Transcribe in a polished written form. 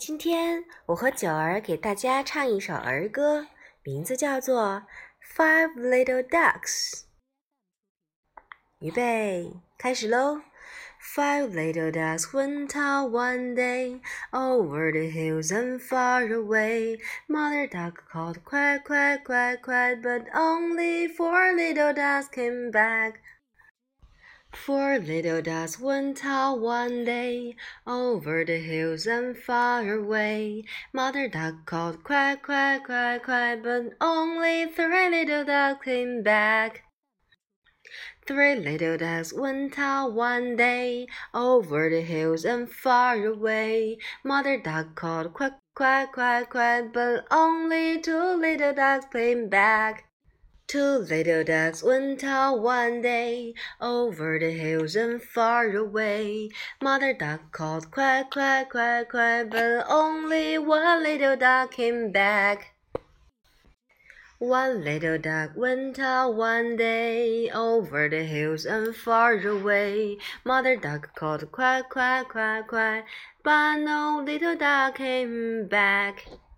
今天我和九儿给大家唱一首儿歌，名字叫做《Five Little Ducks》。预备，开始喽！ Five little ducks went out one day over the hills and far away. Mother duck called quack, quack, quack, quack, but only four little ducks came back. Four little ducks went out one day over the hills and far away. Mother duck called quack, quack, quack, quack, but only three little ducks came back. Three little ducks went out one day over the hills and far away. Mother duck called quack, quack, quack, quack, but only two little ducks came back. Two little ducks went out one day over the hills and far away. Mother duck called quack, quack, quack, quack, but only one little duck came back. One little duck went out one day over the hills and far away. Mother duck called quack, quack, quack, quack, but no little duck came back.